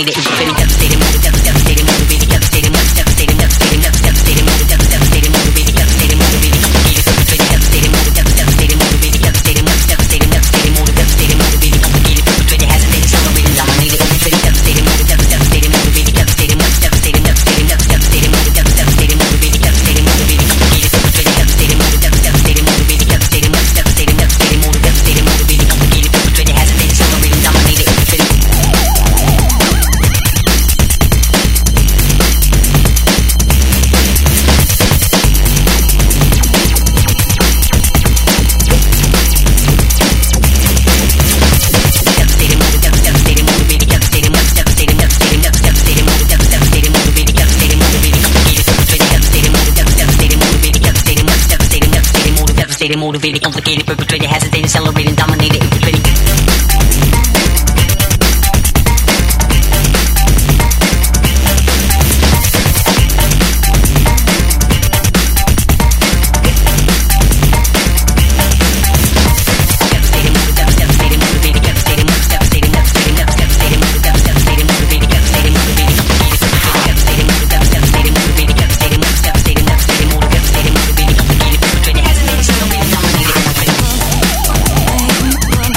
dominated, infiltrating, devastating, motivated, devastating, motivated, devastating, devastating, devastating, devastating, motivated, devastating, motivated, devastating, motivated, complicated, devastating, motivated, devastating, motivated, devastating, devastating, devastating, motivated, devastating, motivated, complicated, perpetrated, hesitating, accelerating, dominated, infiltrating, devastating, motivated, devastating, motivated, devastating, devastating, devastating, devastating, motivated, devastating, motivated, devastating, motivated, complicated, perpetrated, devastating, motivated, devastating, motivated, devastating, devastating, devastating, motivated, devastating, motivated, complicated, perpetrated, hesitating, accelerating, dominated, infiltrating. Motivated, complicated, perpetrated, hesitating, accelerating, dominated, infiltrating. Dominated.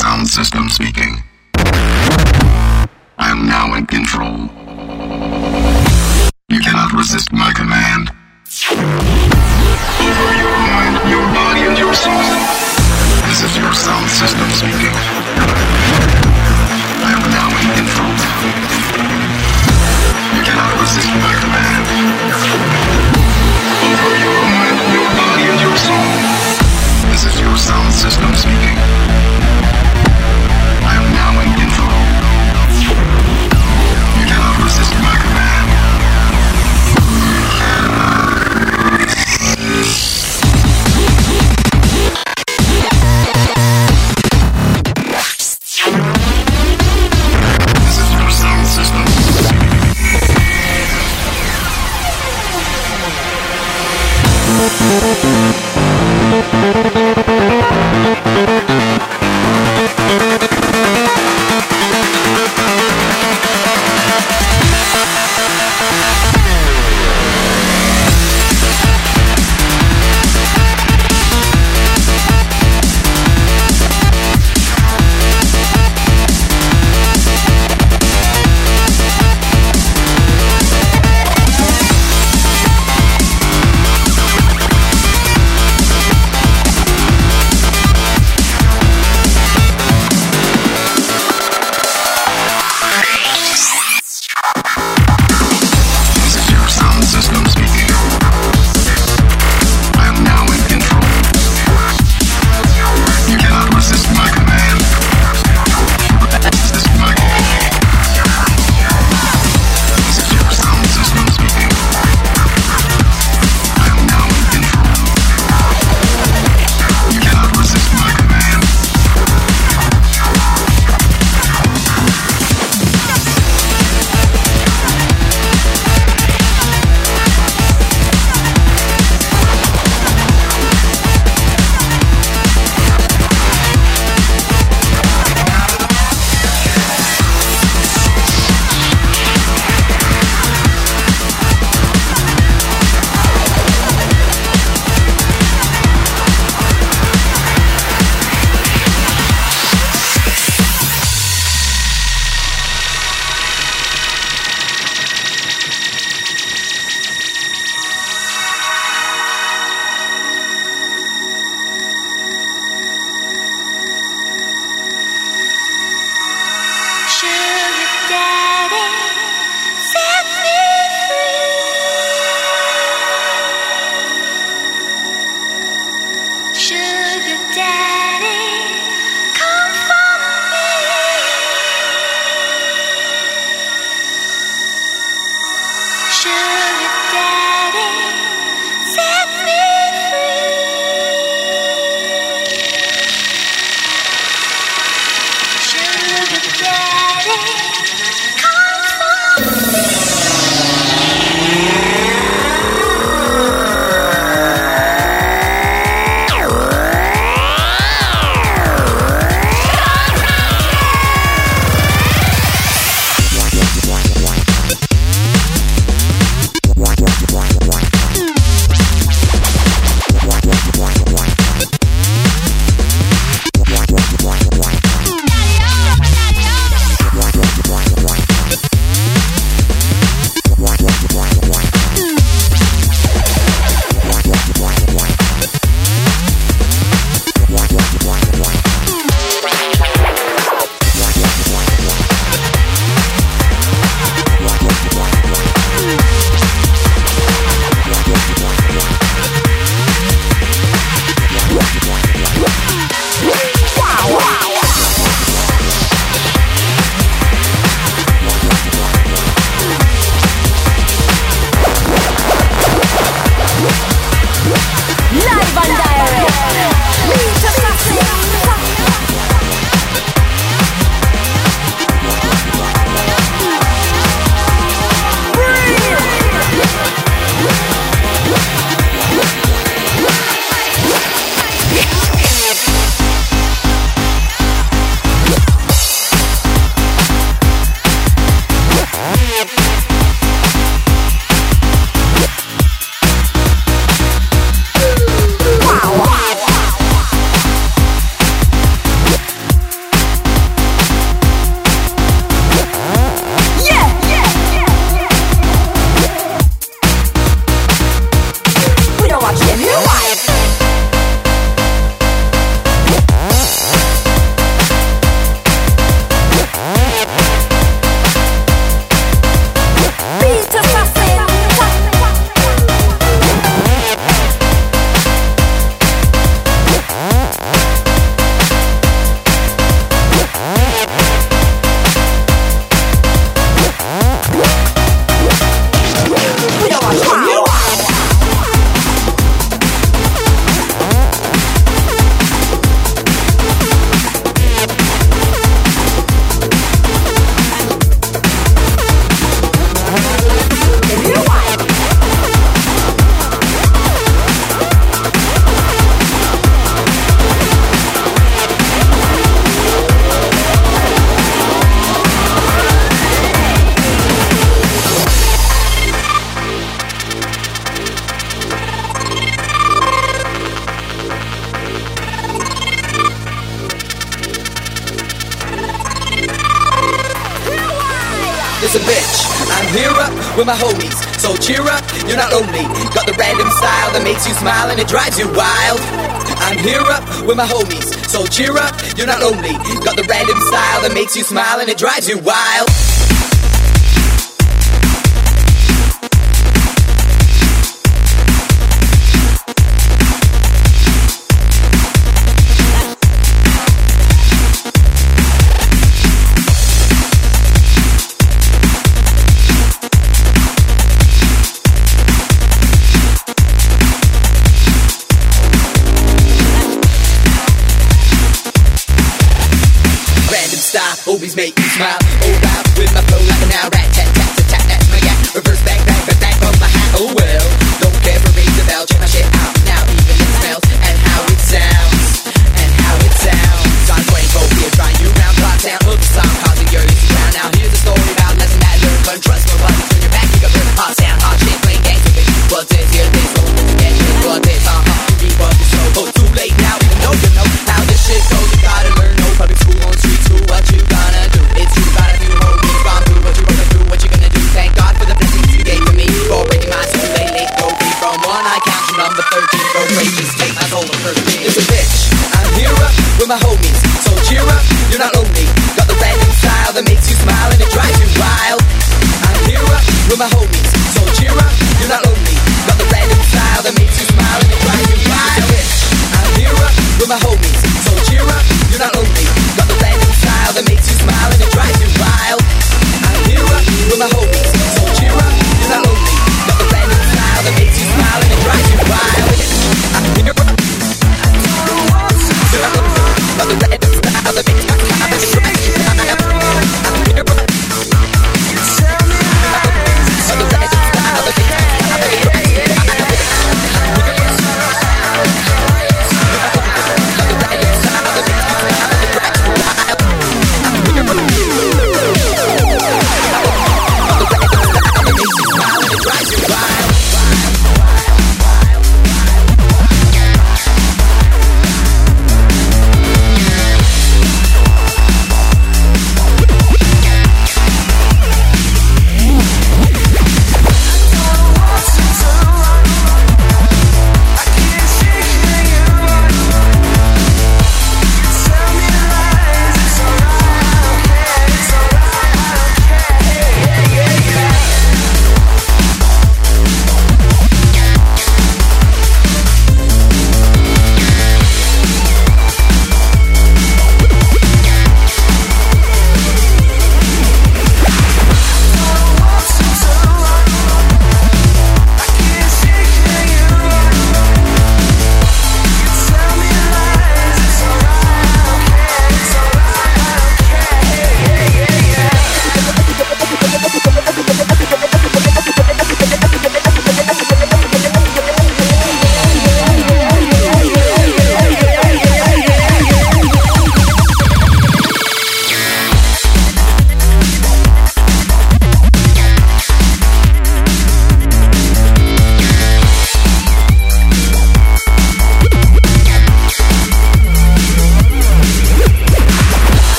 sound system speaking. I am now in control. You cannot resist my command. Over your mind, your body, and your soul. This is your sound system speaking. I am now in control. You cannot resist my command. Over your mind, your body, and your soul. This is your sound system speaking. I am now in control. You cannot resist my command. This is your sound system. with my homies. So cheer up, you're not lonely. Got the random style that makes you smile and it drives you wild. I'm here up with my homies. So cheer up, you're not lonely. Got the random style that makes you smile and it drives you wild. Always make you smile. Oh wow, with my flow like an owl. Rat tat tat tat tat. That's my yak. Reverse back back back back from my hat. Oh well, don't care for raise the bell. Check my shit out now. Even it smells and how it sounds and how it sounds. I'm going for here, trying you round clock down. Hook the song, causing your easy ground. Now here's a story about lesson that I learned. Learn trust nobody. Turn your back, you got burn. Hot sound, hot shit, playing games with me. What's this? Hear this? Hold it together. What this? Read what you show. Oh, too late now. Even though you know how this shit goes, you gotta learn. No public school on street school. What you gonna do? It's true, got a few homies gone through what you gonna do, what you gonna do. Thank God for the blessings you gave to me. For breaking my soul, late, go free from one. I count to number 13. Go great, just take my soul the first thing. It's a bitch. I'm here up with my homies. So cheer up, you're not lonely. Got the random style that makes you smile and it drives you wild. I'm here up with my homies. So cheer up, you're not lonely. Got the random style that makes you smile and it drives you wild. Bitch. I'm here up with my homies. So cheer up, you're not lonely. Got the random style that makes you smile and it drives you wild. I'm here up with my homies. So cheer up, you're not lonely. Got the random style that makes you smile and it drives you wild. I'm here up. Got the random style that makes you smile and it drives you wild. I'm here up. Got the random style that makes you smile and it drives you wild. I'm here up.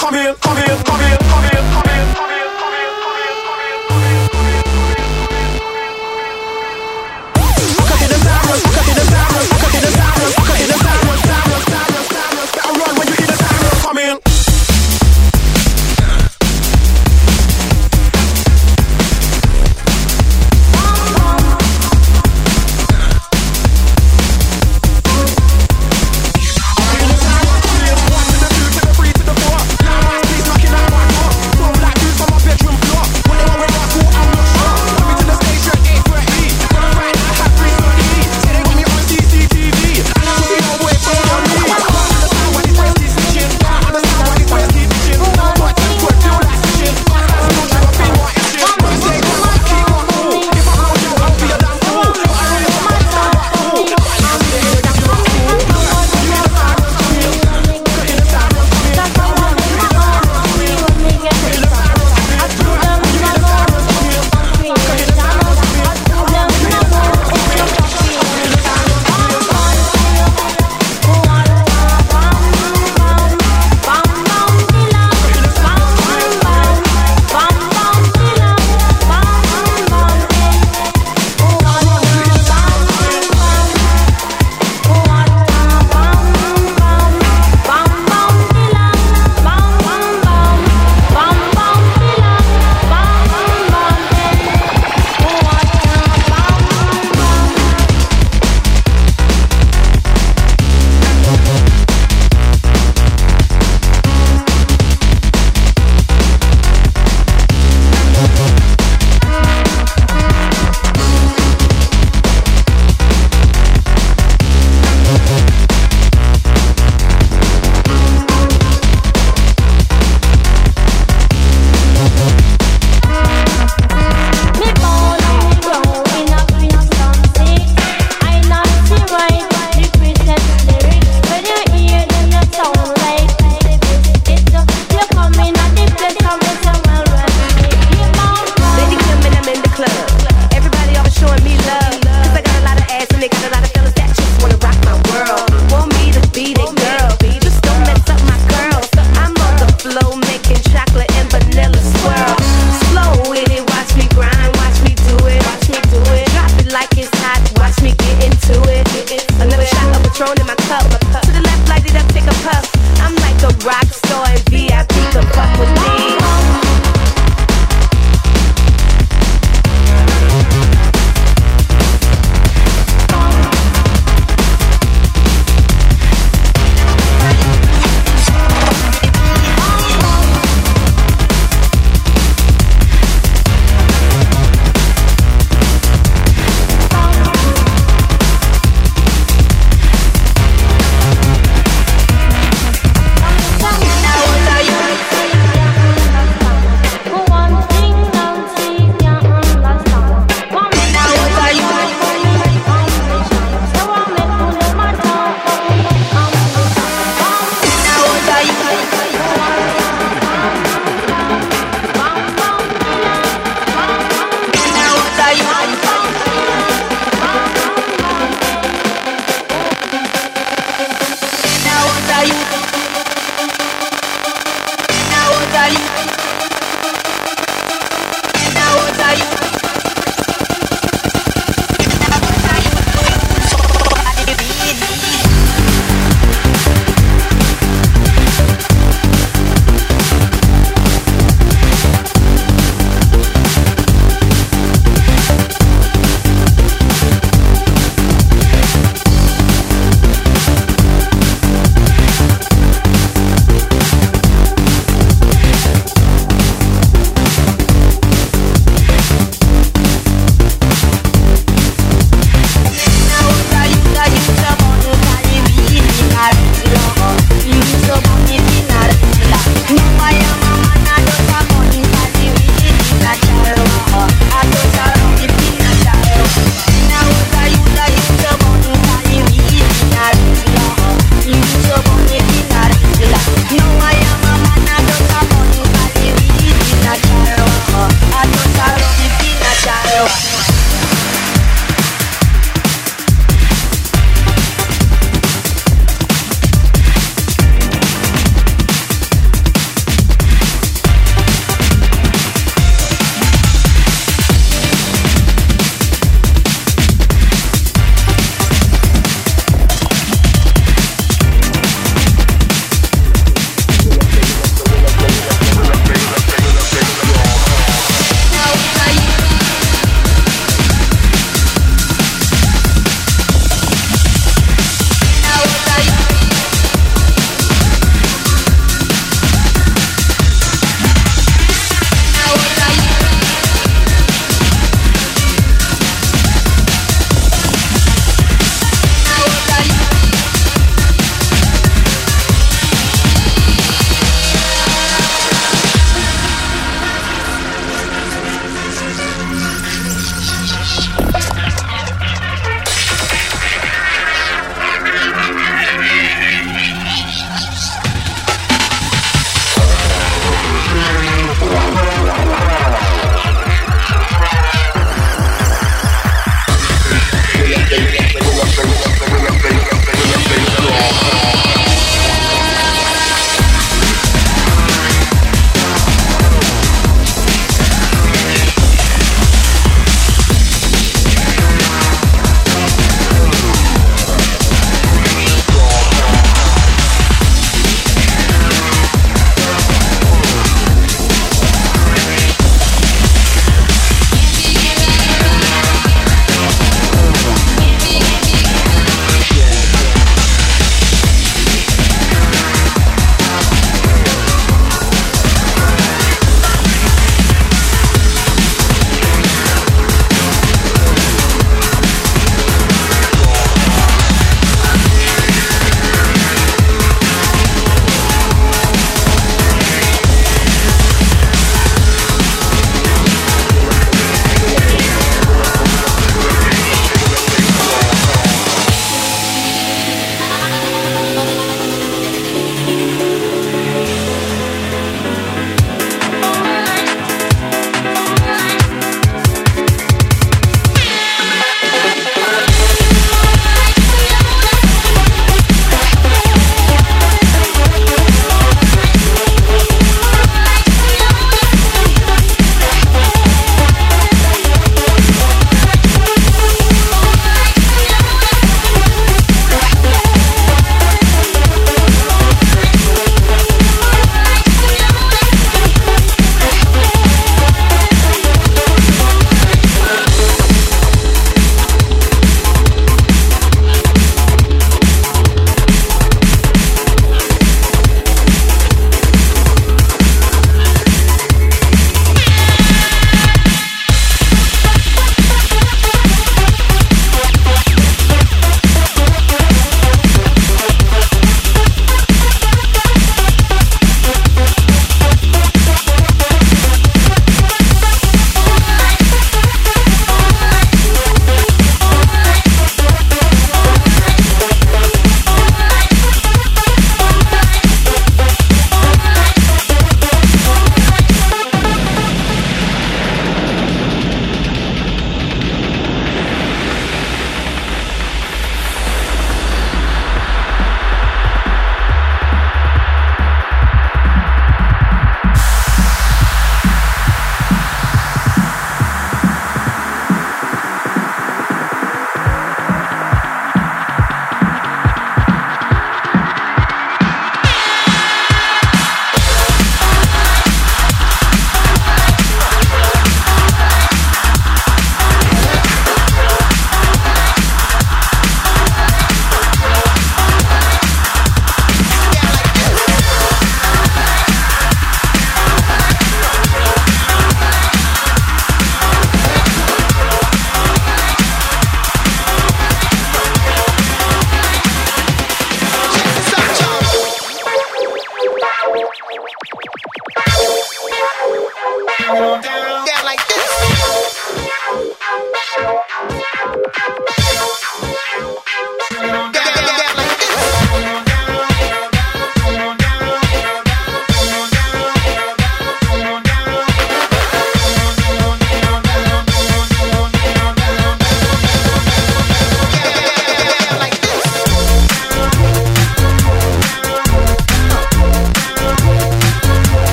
come here, come here, come here, come here, come here, come here.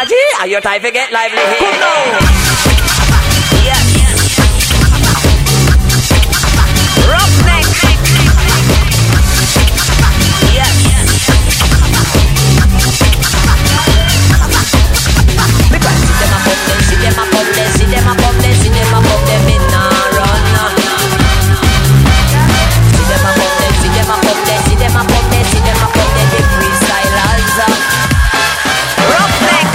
energy, and your time to get lively here. Come now. Yes. Roughneck. Yes. Because see them a pop them, see them a pop them, see them a pop them, see them a pop them in a run. See them a pop them, see them a pop them, see them a pop them, see them a pop them, the freestylers. Roughneck.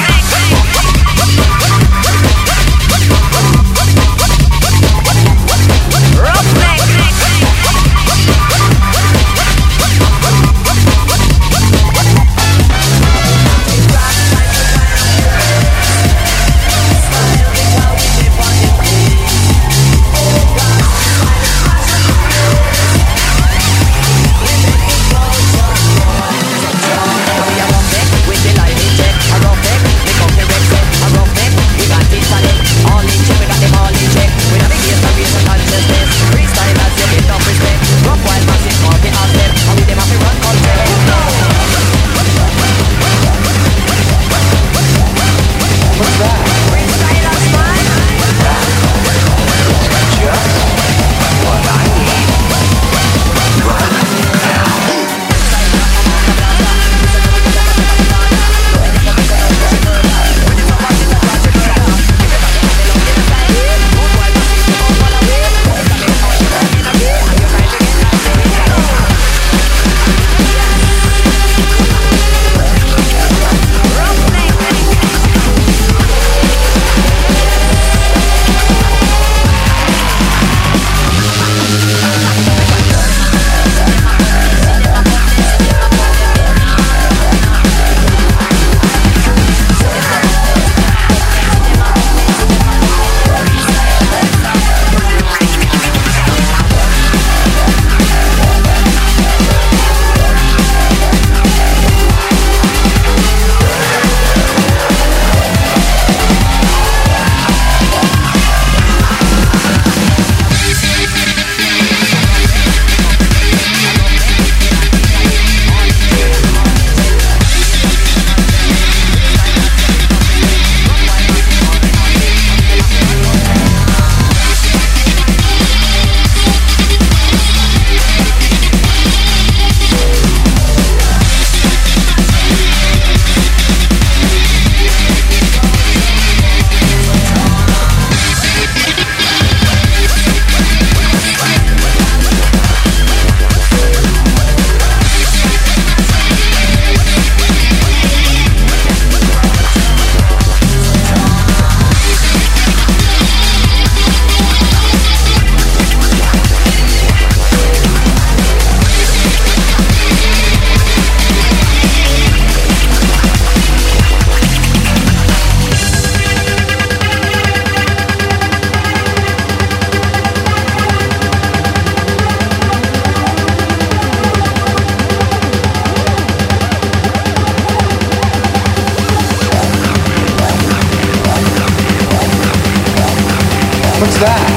What's that?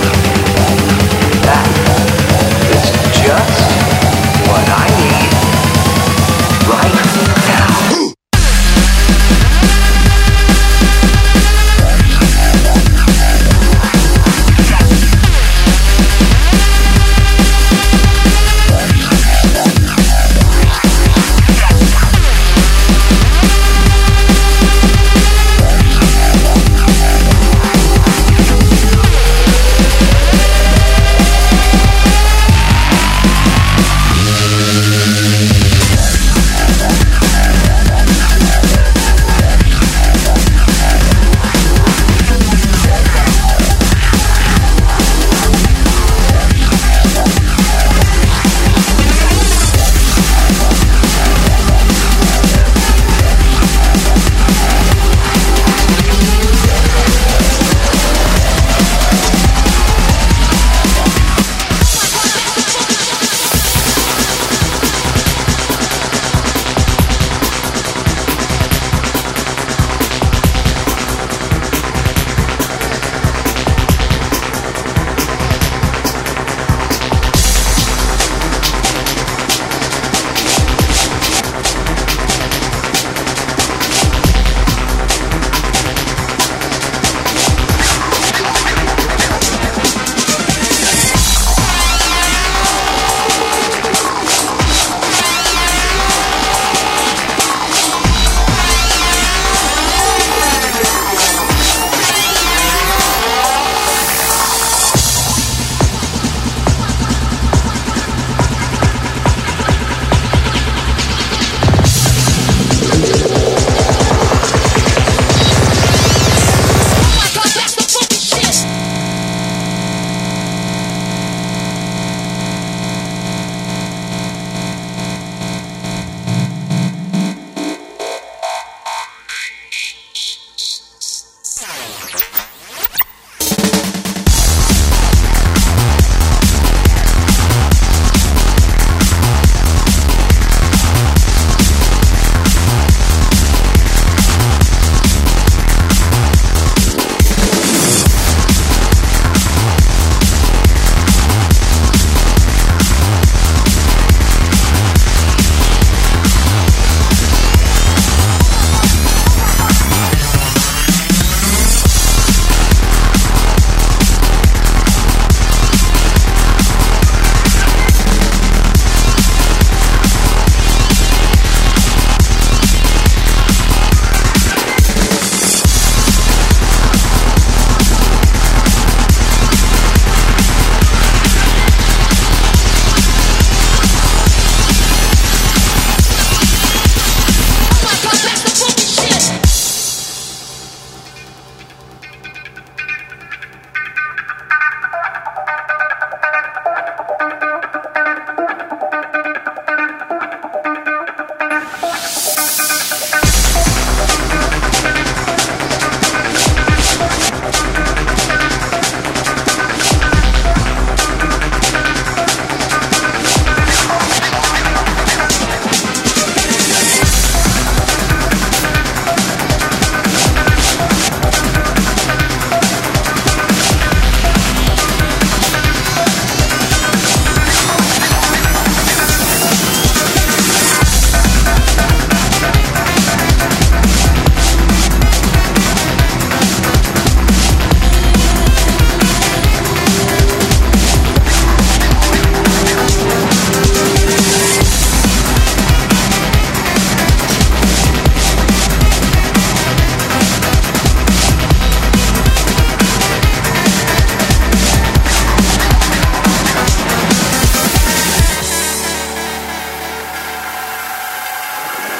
That is just what I need right now.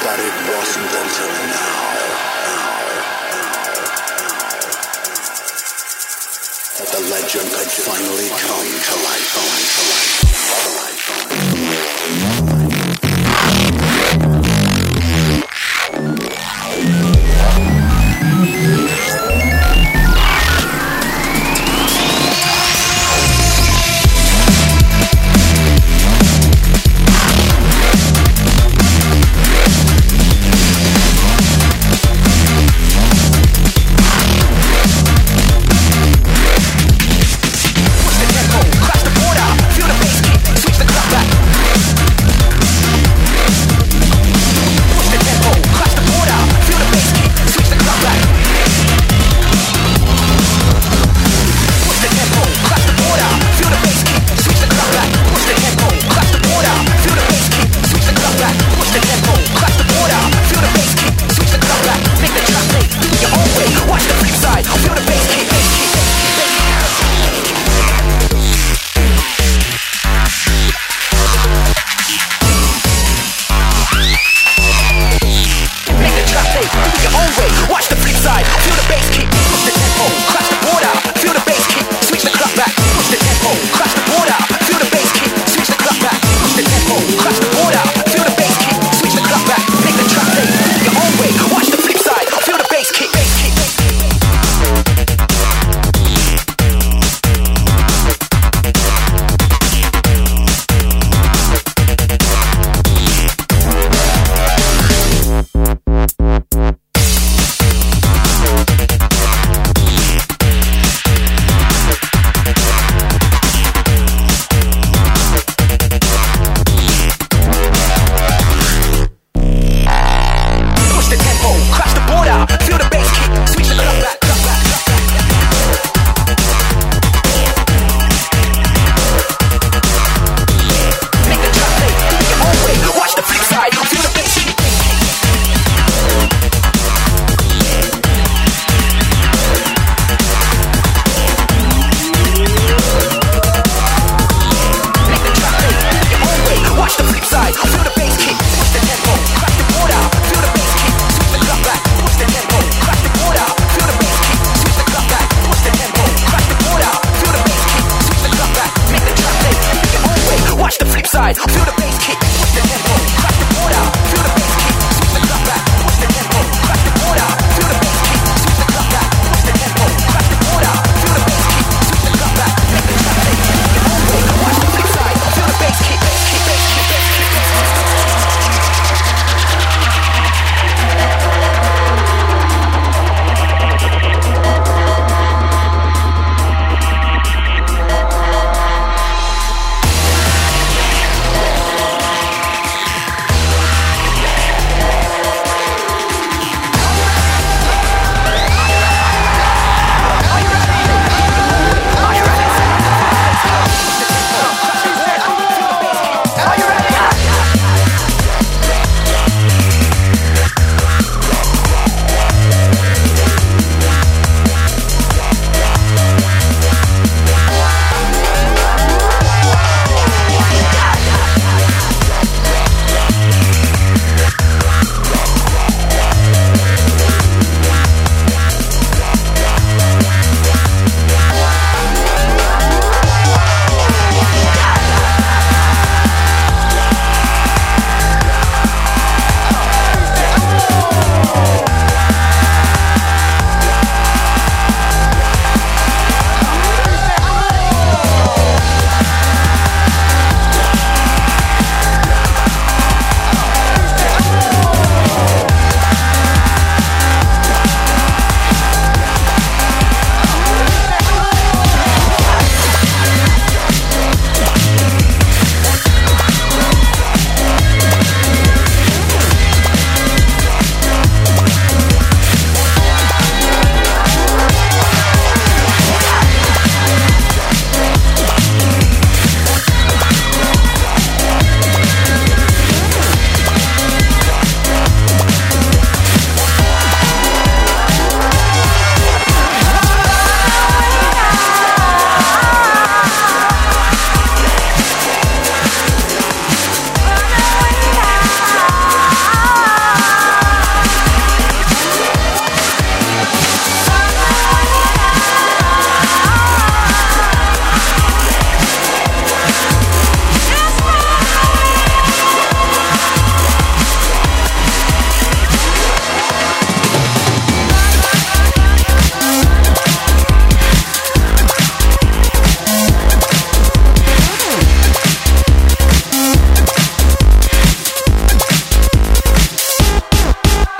but it wasn't until now that the legend could finally come to life. Push the tempo, cross the border, feel the bass kick, switch the clock back.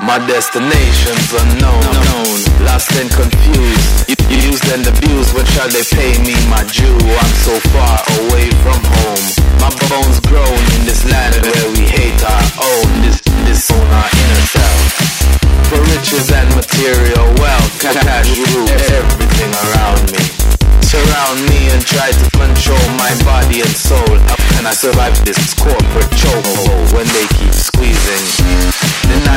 My destination's unknown, lost and confused. Used and abused, when shall they pay me my due? I'm so far away from home. My bones grown in this land where we hate our own. This own our inner self. For riches and material wealth, cash rules everything around me. Surround me and try to control my body and soul. How can I survive this corporate chokehold when they keep squeezing?